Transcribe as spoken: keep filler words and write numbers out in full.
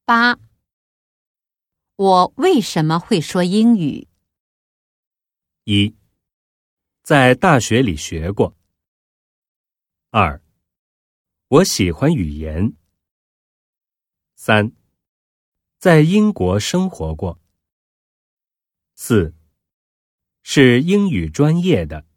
八，我为什么会说英语？ 一，在大学里学过。二，我喜欢语言。三，在英国生活过。四，是英语专业的。